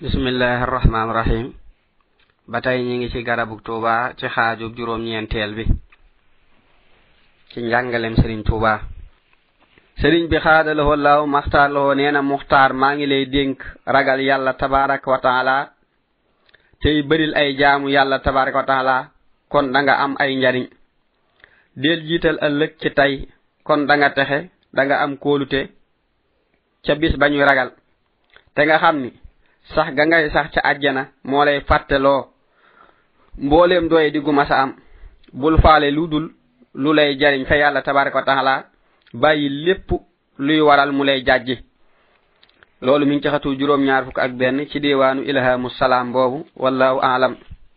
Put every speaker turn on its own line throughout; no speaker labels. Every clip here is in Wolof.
bismillahir rahmanir rahim batay ñi ngi ci garabuk Touba ci xaaju juroom ñentel bi ci njangalem Serigne Touba Serigne bi xaadalahu wallahu maxtaarloo neena muxtaar maa ngi lay dénk ragal yàlla tabarak wa taala tey bëril ay jaamu yàlla tabarak wa taala kon da nga am ay njariñ del jiital ëllëg ci tay kon da nga texe da nga am kóolute ca bis bañuy ragal te nga xam ni sax ga ngay sax ca àjjana moo lay fàtteloo mbooleem doye di gu masa am bul faale lu dul lu lay jariñ fa yàlla tabaraka wa taala bàyyi lépp luy waral mu lay jàjji loolu mi ngi ci xatu juróom ñaar fukk ak benn ci diwaanu ilhamu salaam boobu wallahu aalam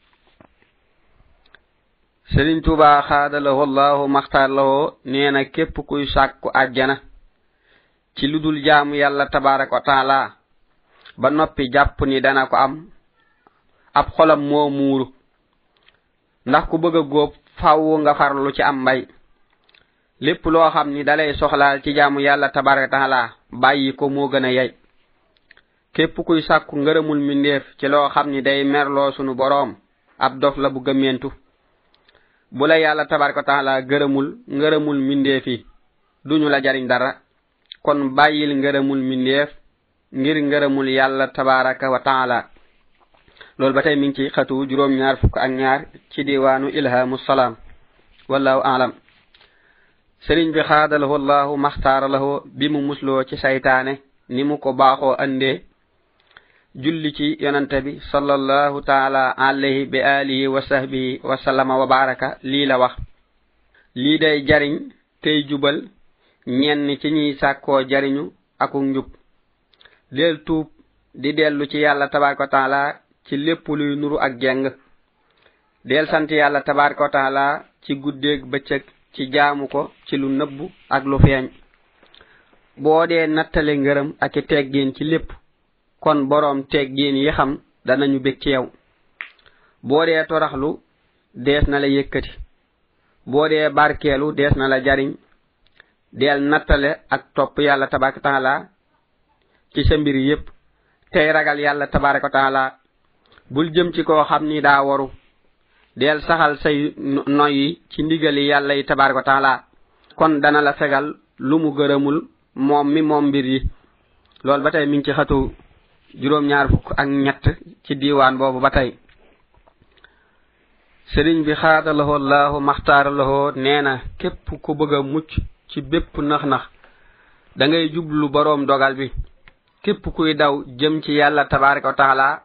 Serigne Touba xaadalahu wallahu maxtaar lahoo nee na képp kuy sàkku àjjana ci lu dul jaamu yàlla tabaraka wa taala ba noppi jàpp ni dana ko am ab xolam moo muuru ndax ku bëgg a góob faaw nga farlu ci am mbay lépp loo xam ni dalay soxlaal ci jaamu yàlla tabaraka taala bàyyi ko moo gën a yey képp kuy sàkku ngërëmul mindeef ci loo xam ni day merloo sunu boroom ab dof la bu gëmmentu bu la yàlla tabaraka taala gërëmul ngërëmul mindeef yi duñu la jariñ dara kon bàyyil ngërëmul mindeef ngir ngërëmul yàlla tabaraka wa taala loolu ba tey mi ngi ci xatu juróom ñaar fukk ak ñaar ci diwaanu ilhamu salaam wallahu aalam Serigne bi xaadalahu wallahu maxtaara lahu bi mu musloo ci saytaane ni mu ko baaxoo andee julli ci yonante bi sallallahu taala alayhi bi alihi wa sahbihi wa sallama wa baraka lii la wax lii day jariñ tey jubal ñenn ci ñiy sàkkoo jariñu aku njub del tuub di dellu ci yàlla tabaraka wa taala ci lépp luy nuru ak jeng del sant yàlla tabaraka wa taala ci guddeeg bëccëg ci jaamu ko ci lu nëbbu ak lu feeñ boo dee nattale ngërëm ak teggin ci lépp kon boroom teggin yi xam danañu bég ci yow boo dee toraxlu dees na la yëkkati boo dee barkeelu dees na la jariñ del nattale ak topp yàlla tabaraka wa taala ci sa mbir yépp tey ragal yàlla tabaraka wa taala bul jëm ci koo xam ni daa waru del saxal say noyyi ci ndigali yàlla yi tabaraka wa taala kon dana la fegal lu mu gërëmul moom mi moom mbir yi loolu ba tey mi ngi ci xatu juróom ñaar fukk ak ñett ci diiwaan boobu ba tey Serigne bi xaadalahu allahu maxtaara lahoo nee na képp ku bëgg a mucc ci bépp nax-nax da ngay jublu boroom dogal bi képp kuy daw jëm ci yàlla tabaraka wa taala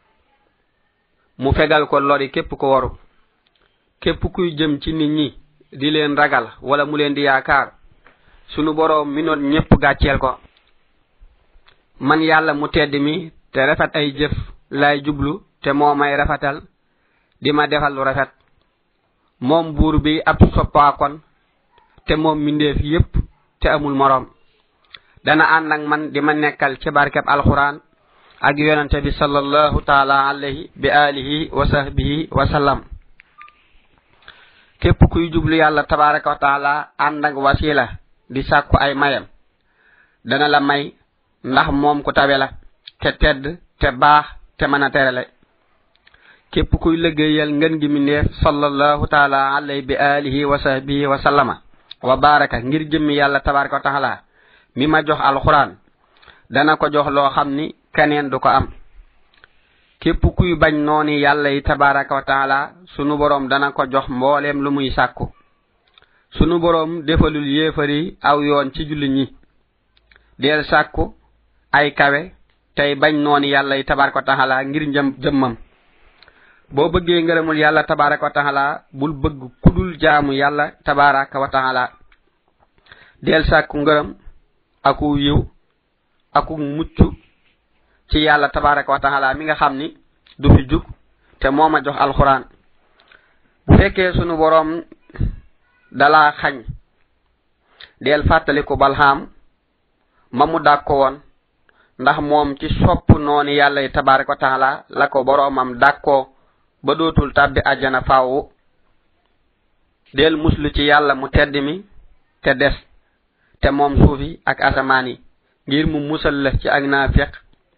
mu fegal ko lori képp ko waru képp kuy jëm ci nit ñi di leen ragal wala mu leen di yaakaar sunu boroom mi noon ñépp gàcceel ko man yàlla mu tedd mi te rafet ay jëf lay jublu te moo may rafetal di ma defal lu rafet moom buur bi ab soppaakon te moom mindeef yépp te amul moroom dana ànd ak man di ma nekkal ci barkeb alquran ak yonante bi sallallahu taala alayhi bi alihi wa sahbihi wa sallam képp kuy jublu yàlla tabaraka wa taala ànd ak wasila di sàkku ay mayam dana la may ndax moom ku tabe la te tedd te baax te mën a terale képp kuy liggéeyal ngën gi mindeef sallallahu taala alayhi bi alihi wa sahbihi wa sallama wa baraka ngir jëmmi yàlla tabaraka wa taala mi ma jox alquran dana ko jox loo xam ni keneen du ko am képp kuy bañ nooni yàlla yi tabaraka wa taala sunu boroom dana ko jox mbooleem lu muy sàkku sunu boroom defalul yéefari aw yoon ci julli ñi del sàkku ay kawe tey bañ nooni yàlla yi tabaraka wa taala ngir jëmmam boo bëggee ngërëmul yàlla tabaraka wa taala bul bëgg kudul jaamu yàlla tabaraka wa taala del sàkku ngërëm aku yiw aku mucc ci yàlla tabaraka wa taala mi nga xam ni du fi jug te moo ma jox alquran bu fekkee sunu boroom dala xañ del fàttaliku balham ma mu dàkko woon ndax moom ci sopp nooni yàlla yi tabaraka wa taala la ko boroomam dàkkoo ba dootul tàbbi àjjana faawu del muslu ci yàlla mu tedd mi te des te moom suufi ak asamaan yi ngir mu musal la ci ak naafiq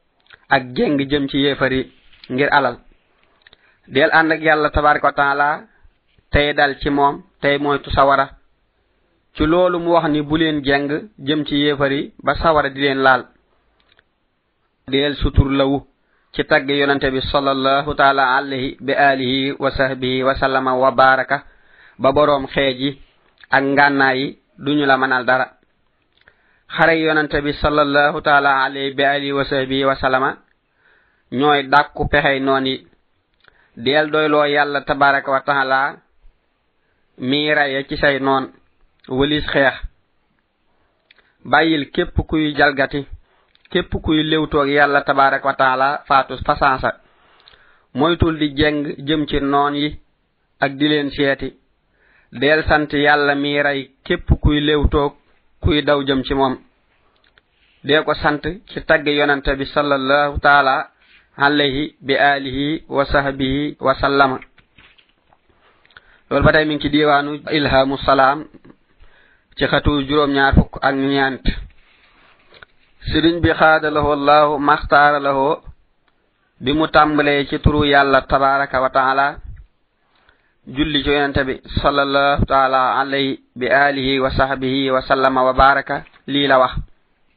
ak jeng jëm ci yéefari ngir alal del and ak yalla tabaaraku taala tay dal ci mom tay moytu sawara ci lolu mu wax ni bu len jeng jëm ci yéefari ba sawara di len laal del sutur lawu ci tagg yonante bi sallallahu ta'ala alayhi bi alihi wa sahbihi wa sallama wa baraka ba borom xeji ak ngannaay duñu la manal dara xare yonante bi sallallahu ta'ala alayhi bi alihi wa sahbihi wa sallama ñoy dakku pexey noni del doylo yalla tabaaraku wa ta'ala mi raye ci say non walis xex bayil kep kuy jalgati kep kuy lewto ak yalla tabaaraku wa ta'ala faatu fasansa moytul di jeng jëm ci non yi ak di len seeti del sant yalla mi ray kep kuy lewto kuy daw jëm ci mom de ko sant ci tagge yonante bi sallallahu ta'ala alayhi bi alihi wa sahbihi wa sallama lol batay mi ngi ci diwanu ilhamus salam ci xatu juroom ñaar fukk ak ñant serigne bi khadalahu allah makhtara lahu bi mu tambale ci turu yalla tabaaraka wa ta'ala julli ci yonante bi sallallahu ta'ala alayhi bi alihi wa sahbihi wa sallama wa baraka li la wax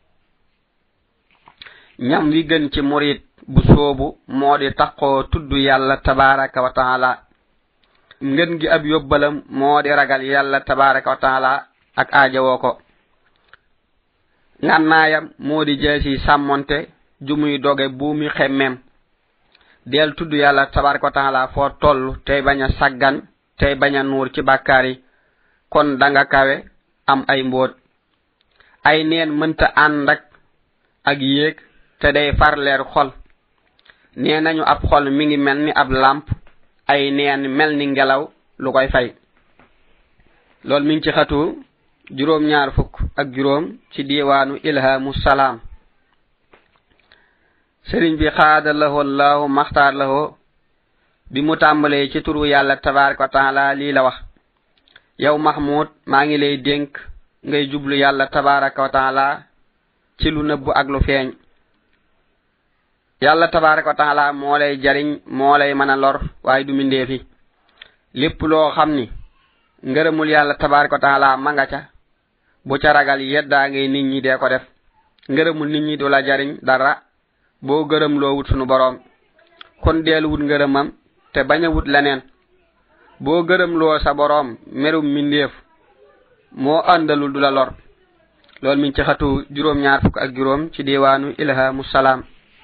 ñam wi gën ci murid bu soobu modi takko tuddu yalla tabaaraka wa ta'ala ngeen gi ab yobbalam modi ragal yalla tabaaraka wa ta'ala ak aajawo ko ngannaayam modi jeesi samonté jumuy doge buumi xemmem del tuddu yalla tabaaraka wa ta'ala fo tollu tay baña saggan tay baña nur ci bakari kon danga kawe am ay mbot ay neen mënta andak ak yek te day far leer xol neenañu ab xol mi ngi melni ab lampe ay neen melni ngelaw lu koy fay lol mi ngi ci xatu juroom ñaar fukk ak juroom ci diwanu ilhamus salam serigne bi khadalahu allah makhtar lahu bi mu tambale ci turu yalla tabaaraku ta'ala li la wax yow mahmud ma ngi lay denk ngay jublu yalla tabaaraku ta'ala ci lu neub ak lu feñ yalla tabaaraku ta'ala mo lay jariñ mo lay mëna lor way du mindefi lepp lo xamni ngeureumul yalla tabaaraku ta'ala ma nga ca bu ca ragal yedda ngay nit ñi de ko def ngeureumul nit ñi do la jariñ dara bo geureum lo wut sunu borom kon del wut ngeureumam te baña wut lenen bo geureum lo sa borom merum mindef mo andalul dula lor lol min ci xatu juroom ñaar fuk ak juroom ci diwanu ilhamus salam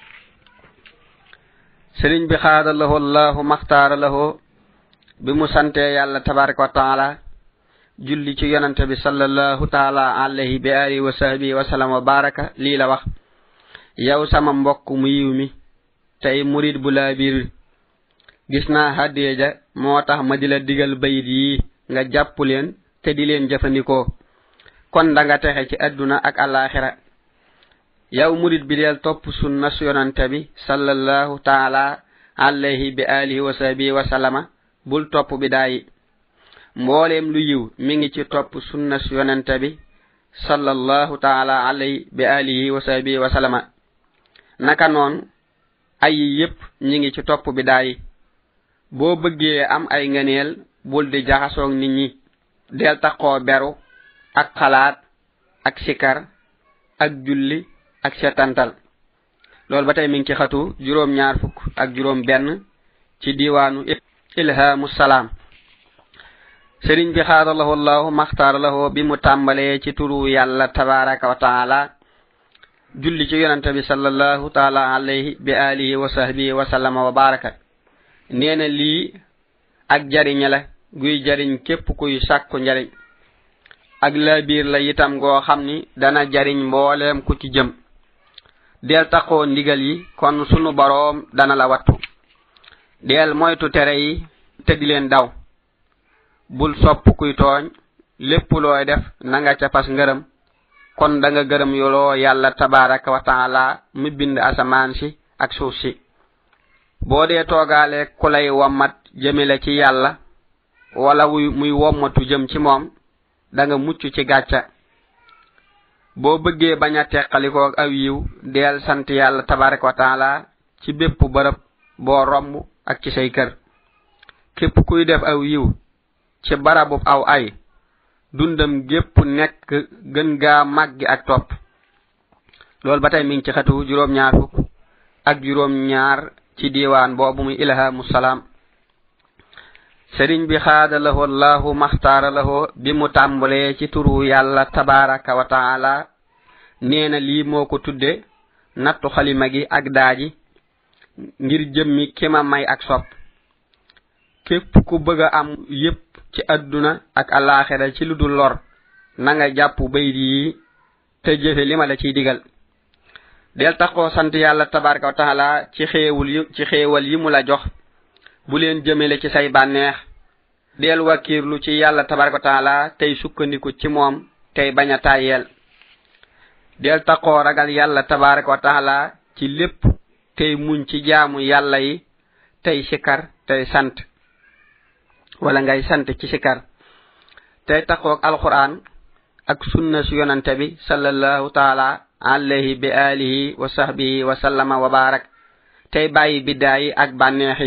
serigne bi khadalahu allah makhtara lahu bi mu sante yalla tabaaraku wa ta'ala julli ci yonante bi sallallahu ta'ala alayhi bi alihi wa sahbihi wa sallam wa baraka li la wax yow sama mbokk mu yiwmi tay murid bu la bir gisna hadiya motax ma dila digal bayit yi nga japp len te di len jëfandiko kon da nga taxé ci aduna ak alakhirah yow murid bi del top sunna yonante bi sallallahu ta'ala alayhi bi alihi wa sahbihi wa sallama bul top bidayi mbolem lu yiw mi ngi ci top sunna yonante bi sallallahu ta'ala alayhi bi alihi wa sahbihi wa sallama naka non ay yépp ñi ngi ci top bidayi bo bëggé am ay ngëneel bul di jaxasoog nit ñi del taxo beru ak xalaat ak sikar ak julli ak setantal lol batay mi ngi ci xatu juroom ñaar fuk ak juroom benn ci diwanu ilhamus salam serigne bi khadalahu allah makhtar lahu bi mu tambale ci turu yalla tabaaraka wa ta'ala julli ci yonante bi sallallahu ta'ala alayhi bi alihi wa sahbihi wa sallama wa baraka neena li ak jariñ la guy jariñ képp kuy sakku njariñ ak la biir la itam go xamni dana jariñ mbolem ku ci jëm del taxo ndigal yi kon sunu borom dana la wattu del moytu tere yi te di len daw bul sopp kuy togn lepp loy def na nga ca pas ngeureum kon da nga geureum yolo yalla tabaaraka wa ta'ala mi bind asaman ci ak suuf ci bo de togalé kulay wamat jëmele ci yalla wala muy womatu jëm ci mom da nga muccu ci gatcha bo bëggee baña teqaliko ak aw yiw del sant yalla tabaaraku ta'ala ci bépp barab bo romb ak ci say kër képp kuy def aw yiw ci barabu aw ay dundam gépp nekk gën gaa màggi ak topp loolu ba tey mi ngi ci xatu juróom-ñaar fukk ak juróom-ñaar ci diiwaan boobu muy ilhamu salaam sëriñ bi xaada lahu allahu maxtaara lahu bi mu tàmbalee ci turu yàlla tabaraka wa taala neena lii moo ko tudde nattu xalima gi ak daaji ngir jëmmi kima may ak sopp képp ku bëgg am yépp ci aduna ak alaxira ci ludul lor na nga jàpp baydi yi te jëfe lima la ciy digal del taxoo sant yàlla tabaraka wa taala ci xéewal yi mu la jox bu leen jëmele ci say bànneex del wakirlu ci yàlla tabaraka wa taala tey sukkandiku ci moom tey baña tayel del taxoo ragal yàlla tabaraka wa taala ci lépp tey muñ ci jaamu yàlla yi tey sikar tey sant wala ngay sant ci sikar tey taxoo alquran ak sunna su yonante bi sallallahu taala alayhi bi alihi wa sahbihi wa sallama wa barak tey bàyyi bidaayi ak bànneexi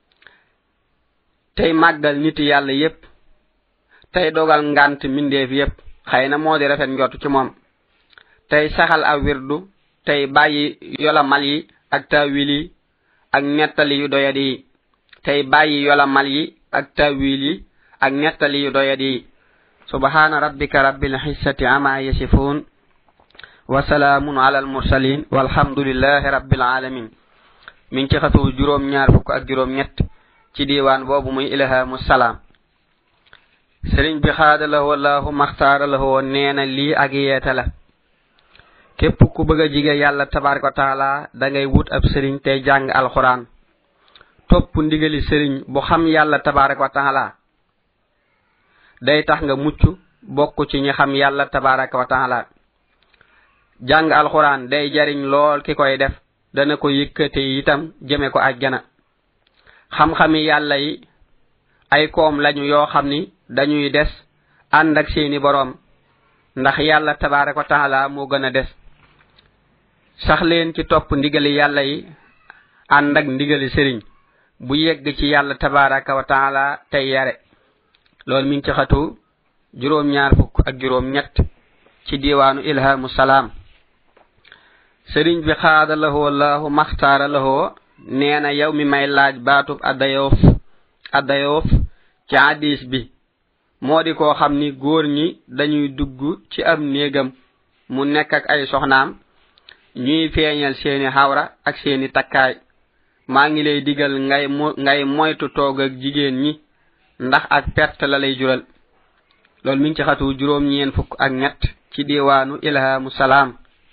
tey màggal nit yàlla yépp tey dogal ngant mindeef yépp xëyna moo di rafet njott ci moom tey saxal aw wirdu tey bàyyi yola mal yi ak tawil yi ak nettali yu doyadi yi tey bàyyi yola mal yi ak tawil yi ak nettali yu doyadi yi subhana rabbika rabbil izzati amma yasifun wa salamun ala al mursalin walhamdulillahi rabbil alamin min ci xatu juróom ñaar fukk ak juróom ñett ci diiwaan boobu muy ilhamu salaam sëriñ bi xaadalahu wallahu maxtaara lahu neena lii ak yeeta la képp ku bëgg a jige yàlla tabaraka taala da ngay wut ab sëriñ tey jàng alquran topp ndigali sëriñ bu xam yàlla tabaraka taala day tax nga mucc bokk ci ñi xam yàlla tabaraka taala jàng alquran day jariñ lool ki koy def dana ko yëkkate itam jëme ko àjjana xam-xami yàlla yi ay koom lañu yoo xam ni dañuy des ànd ak seeni boroom ndax yàlla tabaraka taala moo gën a des sax leen ci topp ndigali yàlla yi ànd ak ndigali sëriñ bu yegg ci yàlla tabaraka wa taala tey yare loolu mi ngi ci xatu juróom ñaar fukk ak juróom ñett ci diiwaanu ilhamu salaam sëriñ bi xaada lahu wallahu maxtaara lahu neena yow mi may laaj baatub addayoof ci hadis bi moo di koo xam ni góor ñi dañuy dugg ci am néegam mu nekk ak ay soxnaam ñuy feeñal seeni xawra ak seeni takkaay maa ngi lay digal ngay moytu toog ak jigéen ñi ndax ak perte la lay jural loolu mi ngi ci xatu juróom ñeen fukk ak ñett ci diiwaanu ilhamu salaam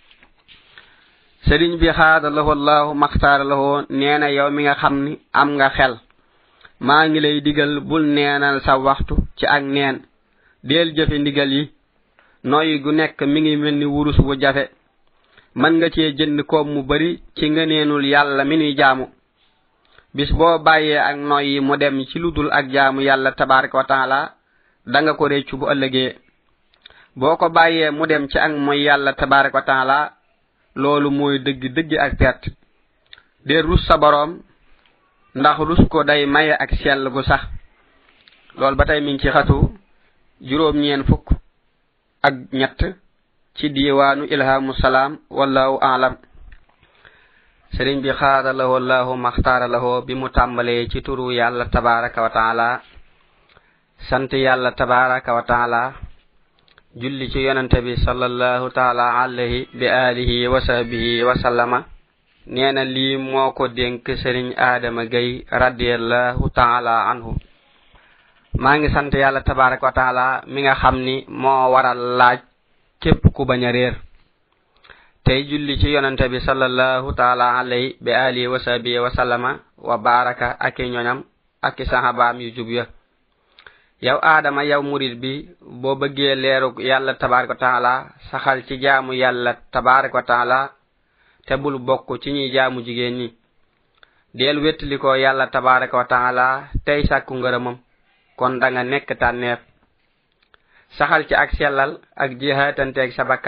sëriñ bi xaada lahu allahu maxtaara lahu neena yow mi nga xam ni am nga xel maa ngi lay digal bul neenal sa waxtu ci ak neen del jëfe ndigal yi noy gu nekk mi ngi melni wurus bu jafe man nga cee jënd ko mu bari ci ngeenul yàlla mi ni jaamu bis boo bàyyee ak noy yi mu dem ci ludul ak jaamu yàlla tabaraka wa taala da nga ko réccu bu ëllëgee boo ko bàyyee mu dem ci ak moy yàlla tabaraka wa taala loolu mooy dëgg ak perte de rus sa boroom ndax rus ko day maye ak sell gu sax loolu ba tey mi ngi ci xatu juróom ñeen fukk ak ñett ci diiwaanu ilhamu salaam wallahu a'lam sëriñ bi xaada lahu wallahu maxtaara lahu bi mu tàmbalee ci turu yàlla tabaraka wa taala sant yàlla tabaraka wa taala julli ci yonante bi sallallahu taala alayhi bi alihi wa sahbihi wa sallama neena lii moo ko dénk sëriñ Adama Gay radiyallahu taala anhu maa ngi sant yàlla tabaraka wa taala mi nga xam ni moo waral laaj képp ku bañ a réer tey julli ci yonante bi sallallahu taala alayhi bi alihi wa sahbihi wa sallama wa baraka ak ñoñam ak sahabaam yu jub ya yow Adama yow murid bi boo bëggee leeru yàlla tabaraka taala saxal ci jaamu yàlla tabaraka taala te bul bokk ci ñi jaamu jigéen ñi del wettali ko yàlla tabaraka taala tey sàkku ngërëmam kon da nga nekk tànneef saxal ci ak sellal ak jihaatante ak sa bakkan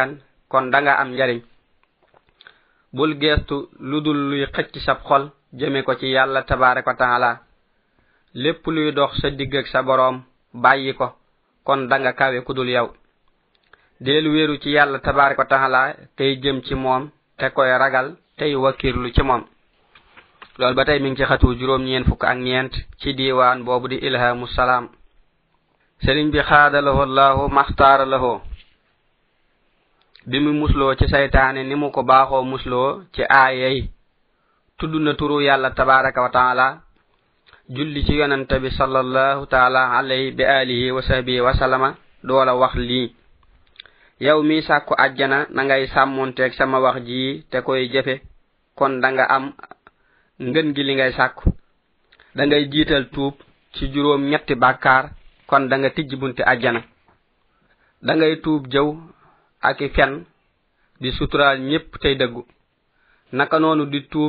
kon da nga am njariñ bul gestu ludul luy xëcc sab xol jëme ko ci yàlla tabaaraka wa taala lépp luy dox sa digg ak sa boroom bàyyi ko kon da nga kawe kudul yow del wéeru ci yàlla tabaaraka wa taala tey jëm ci moom te koy ragal tey wakirlu ci moom loolu ba tey mi ngi ci xatu juróom ñeen fukk ak ñeent ci diiwaan boobu di ilhamu salaam sëriñ bi xaadalahu allahu maxtaaralahu bi mu musloo ci saytaane ni mu ko baaxoo musloo ci aayay tudd na turu yàlla tabaaraka wa taala julli ci yonante bi sallallahu taala alayhi bi alihi wa sahbihi wa sallama doola wax lii yow mi sàkku àjjana na ngay sàmmonteeg sama wax ji te koy jëfe kon da nga am ngën gi li ngay sàkku da ngay jiital tuub ci juróom ñetti bàkkaar kon da nga tijj bunti àjjana da ngay tuub jëw ak fen di suturaal ñépp tey dëggu naka noonu di tuub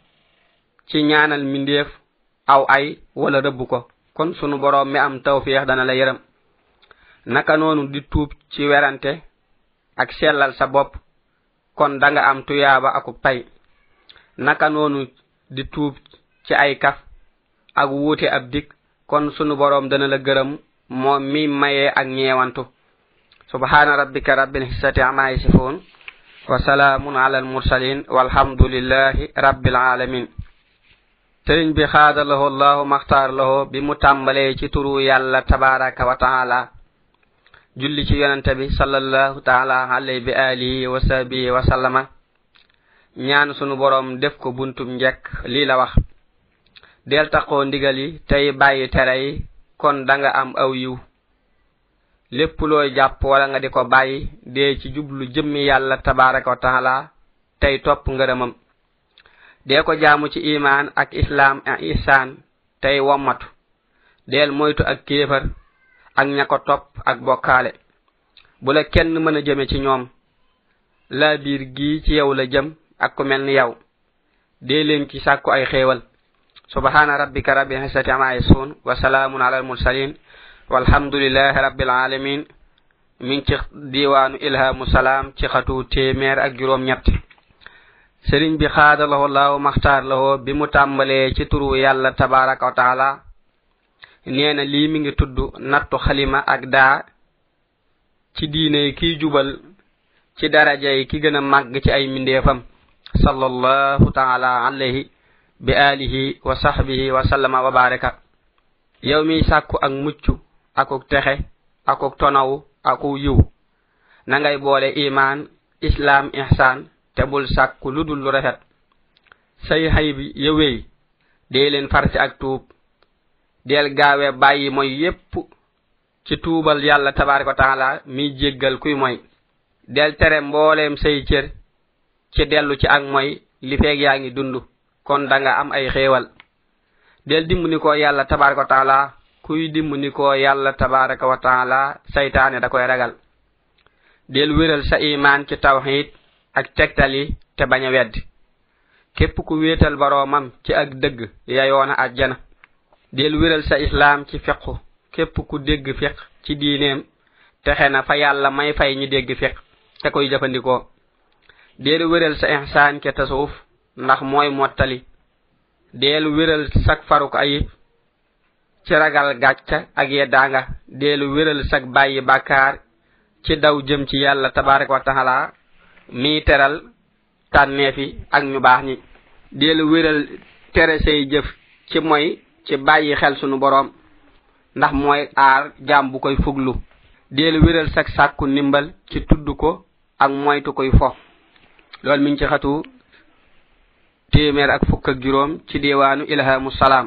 ci ñaanal mindeef aw ay wala rëbb ko kon sunu boroom mi am tawfiix dana la yërëm naka noonu di tuub ci werante ak sellal sa bopp kon da nga am tuyaaba akub pay naka noonu di tuub ci ay kaf ak wuute ab dik kon sunu boroom dana la gërëm moom mi mayee ak ñeewantu subhana rabbika rabbil izzati amma yasifun wa salaamun ala al mursalin walhamdulillahi rabbil alamin sëriñ bi xaadalahu allahu maxtaar lahu bi mu tàmbalee ci turu yàlla tabaraka wa taala julli ci yonante bi sallallahu taala alayhi bi alihi wa sahbihi wa sallama ñaan sunu boroom def ko buntum njekk lii la wax del taqoo ndigal yi tey bàyyi tere yi kon da nga am aw yiw lépp looy jàpp wala nga di ko bàyyi dee ci jublu jëmmi yàlla tabaraka wa taala tey topp ngërëmam dee ko jaamu ci iman ak islam ak ihsan tey wommatu del moytu ak kéefar ak ña ko topp ak bokkaale bu la kenn mën a jëme ci ñoom la biir gi ci yow la jëm ak ku mel ni yow dee leen ci sàkku ay xéewal subhana rabbika rabbil izzati amma yasifun wa salaamun ala al mursalin walhamdulillahi rabbil alamin min ci diiwaanu ilhamu salaam ci xatu téeméer ak juróom ñett sëriñ bi xaadalahu allahu maxtaar lahu bi mu tàmbalee ci turu yàlla tabaraka wa taala nee na lii mi ngi tudd nattu xalima ak daa ci diine kiy jubal ci darajay ki gën a màgg ci ay mindeefam sallallahu taala alayhi bi alihi wa sahbihi wa sallama wa baraka yow mi sàkku ak mucc akuk texe akuk tonawu aku yiw na ngay boole iman islam ihsan te bul sàkku ludul lu rafet say xay bi yëwéy dee leen farsi ak tuub del gaawe bàyyi mooy yépp ci tuubal yàlla tabaraka wa taala mi jéggal kuy mooy del tere mbooleem say cër ci dellu ci ak mooy li feeg yaa ngi dund kon da nga am ay xéewal del dimbali ko yàlla tabaraka wa taala kuy dimbali ko yàlla tabaraka wa taala saytaane da koy ragal del wéral sa iman ci tawhid ak tegtali te bañ a wedd képp ku wéetal boroomam ci ak dëgg yayoona àjjana del wéral sa islam ci fiqhu képp ku dégg fiq ci diineem texe na fa yàlla may fay ñi dégg fiq te koy jëfandikoo del wéral sa ihsaan ke tasawuf ndax mooy mottali del wéral sak faruk ayib ci ragal gàcca ak yeddaanga del wéral sak bàyyi bàkkaar ci daw jëm ci yàlla tabaraka wa taala mi teral tànneefi ak ñu baax ñi del wéral tere say jëf ci mooy ci bàyyi xel sunu boroom ndax mooy aar jaam bu koy fuglu del wéral sak sàkku ndimbal ci tudd ko ak moytu koy fo loolu mi ngi ci xatu téeméer ak fukk ak juróom ci diiwaanu ilhamu salaam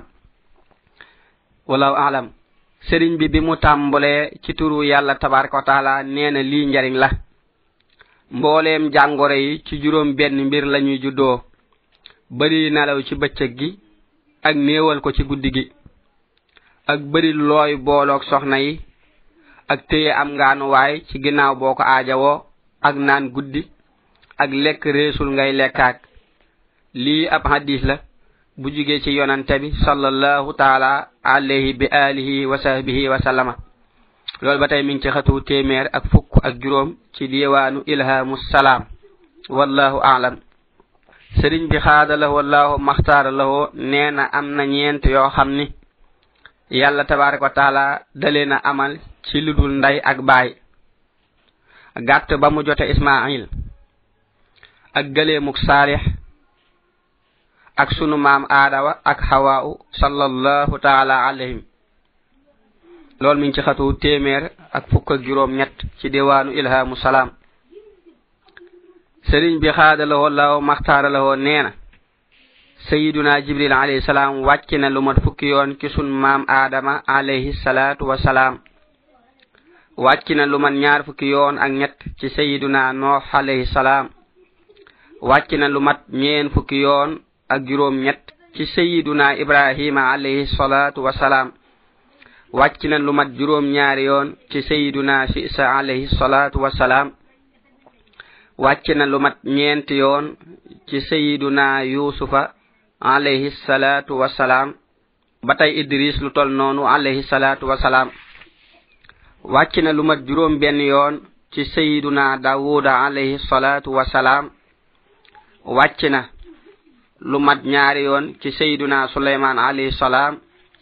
wallahu a'lam sëriñ bi mu tàmbalee ci turu yàlla tabaraka wa taala nee na lii njariñ la mbooleem jàngoro yi ci juróom benn mbir lañuy juddoo bari nelaw ci bëccëg gi ak néewal ko ci guddi gi ak bari looy booloog soxna yi ak téye am ngaanuwaay ci ginnaaw boo ko aajawoo ak naan guddi ak lekk reesul ngay lekkaak lii ab hadis la bu jugee ci yonante bi sallallahu taala alayhi bi alihi wa sahbihi wa sallama loolu ba tey mi ngi ci xatu téeméer ak fukk ak juróom ci diwaanu ilhamu salaam wallahu a'lam. sëriñ bi xaadala wallahu maxtaara lahu nee na am na ñeent yoo xam ni yàlla tabaraka wa taala dalee na amal ci ludul nday ak baay gàtt ba mu jote ismail ak gëleemuk saalix ak sunu maam aadawa ak xawaaw sallallahu taala alayhim loolu mi ngi ci xatu téeméer ak fukk ak juróom ñett ci diwaanu ilhamu salaam. sëriñ bi xaadala wallahu maxtaara lahu nee na sayiduna jibril alayhi salaam wàcc na lu mat fukki yoon ci sun maam aadama alayhi salaatu wasalaam wàcc na lu mat ñaar fukki yoon ak ñett ci sayiduna noox alayhi salaam wàcc na lu mat ñeen fukki yoon ak juróom ñett ci sayiduna ibrahima alayhi salaatu wasalaam wàcc na lu mat juróom ñaari yoon ci sayiduna isa alayhi salaatu wasalaam wàcc na lu mat ñeent yoon ci sayiduna yusufa alayhi salatu wassalam batay idris lu tol nonu alayhi salatu wassalam wàcc na lu mat juróom benn yoon ci sayiduna dawuda alayhi salatu wassalam wàcc na lu mat ñaari yoon ci sayiduna suleyman alayhi salam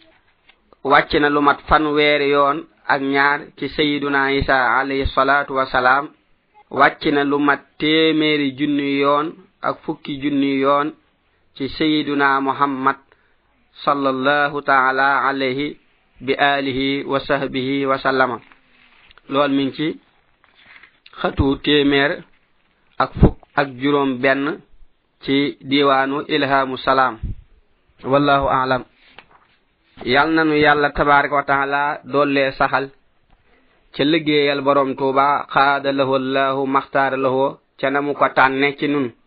wàcc na lu mat fanweeri yoon ak ñaar ci sayiduna isa alayhi salatu wassalam wàcc na lu mat téeméeri junni yoon ak fukki junni yoon ci sayyiduna muhammad sallallahu ta'ala alayhi bi alihi wa sahbihi wa sallama lool mi ngi ci xatu téeméer ak fukk ak juróom benn ci diwaanu ilhamu salaam wallahu a'lam. yal nanu yàlla tabaraka wa ta'ala doole saxal ci liggéeyal borom Tuuba xaada lahu allahu maxtaara lahu ca namu ko tànne ci nun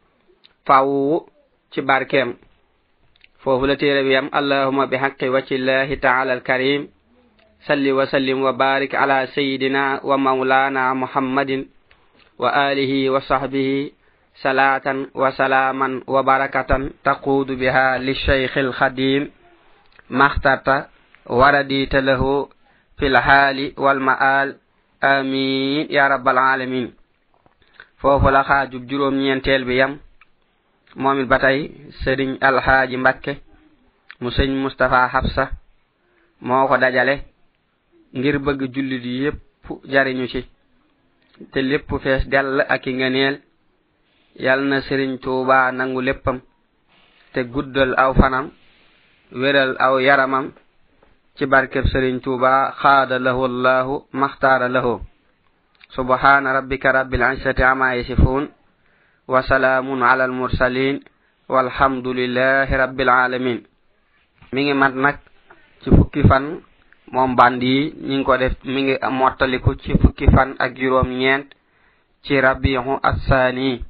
faw ci barkeem foofu la téere bi yam allahumma bi haqqi wajhillahi ta'ala al-karim salli wa sallim wa barik ala sayyidina wa maulana muhammadin wa alihi wa sahbihi salatan wa salaman wa barakatan taqudu biha li shaykhil khadim maxtarta waradita lahu fil hali wal ma'al amin ya rabbal alamin. foofu la xaajub juróom ñeenteel bi yam moomit batay sëriñ alhaaji mbakke mu sëñ mustafa habsa moo ko dajale ngir bëgg jullit yépp jariñu ci te lépp fees dell ak i ngeneel yal na sëriñ Tuuba nangu léppam te guddal aw fanam wéral aw yaramam ci barkeb sëriñ Tuuba xaada lahu allahu maxtaara lahu. subhana rabbika rabbil izzati amma yasifun wa salamun ala al mursalin walhamdulillahi rabbil alamin. mi ngi mat nag ci fukki fan moom bandi ñi ngi ko def mi ngi mottaliku ci fukki fan ak juróom ñeent ci rabihu as-sani